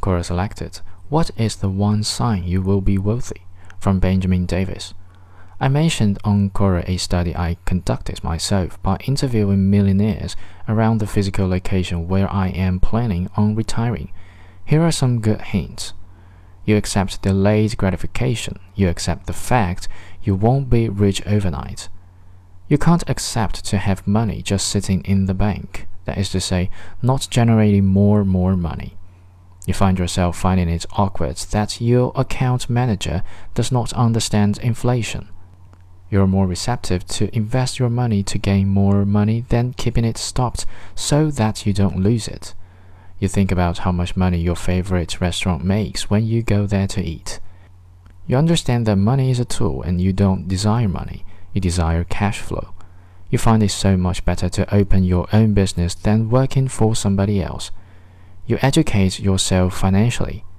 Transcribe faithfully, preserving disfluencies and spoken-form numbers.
Quora selected, "What is the one sign you will be wealthy?" from Benjamin Davis. I mentioned on Quora a study I conducted myself by interviewing millionaires around the physical location where I am planning on retiring. Here are some good hints. You accept delayed gratification. You accept the fact you won't be rich overnight. You can't accept to have money just sitting in the bank, that is to say, not generating more and more money. You find yourself finding it awkward that your account manager does not understand inflation. You're more receptive to invest your money to gain more money than keeping it stopped so that you don't lose it. You think about how much money your favorite restaurant makes when you go there to eat. You understand that money is a tool and you don't desire money, you desire cash flow. You find it so much better to open your own business than working for somebody else. You educate yourself financially.